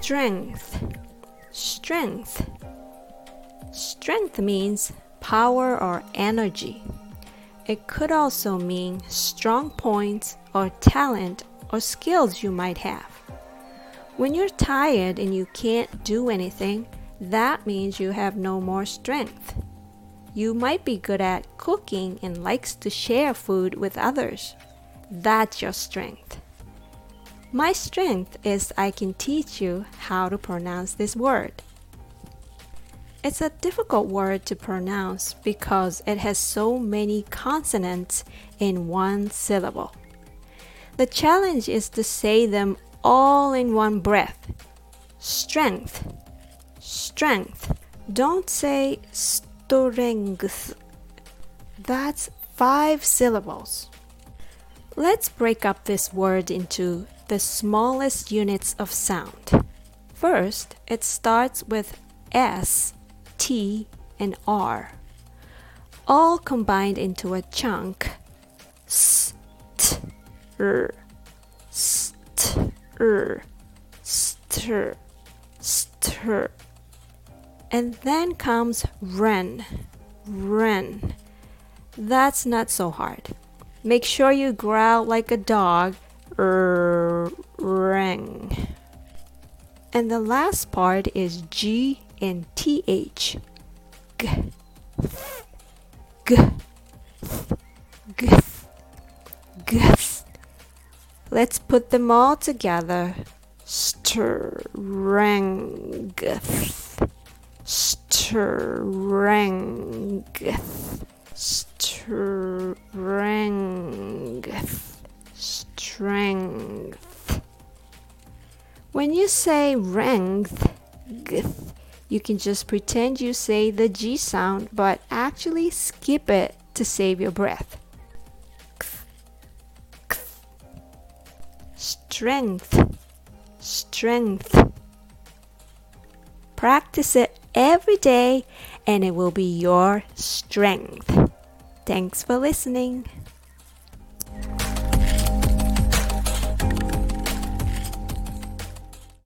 Strength. Strength. Strength means power or energy. It could also mean strong points or talent or skills you might have. When you're tired and you can't do anything, that means you have no more strength. You might be good at cooking and likes to share food with others. That's your strength. My strength is I can teach you how to pronounce this word. It's a difficult word to pronounce because it has so many consonants in one syllable. The challenge is to say them all in one breath. Strength. Strength. Don't say strength. That's 5 syllables. Let's break up this word into the smallest units of sound. First, it starts with S, T, and R, all combined into a chunk. S, T, R, st, R, stir, stir. And then comes ren, ren. That's not so hard. Make sure you growl like a dog, rang. And the last part is G and TH. G, g, g, g. Let's put them all together. Strength, strength, strength, strength. When you say length, you can just pretend you say the G sound, but actually skip it to save your breath. Strength, strength. Practice it every day and it will be your strength. Thanks for listening.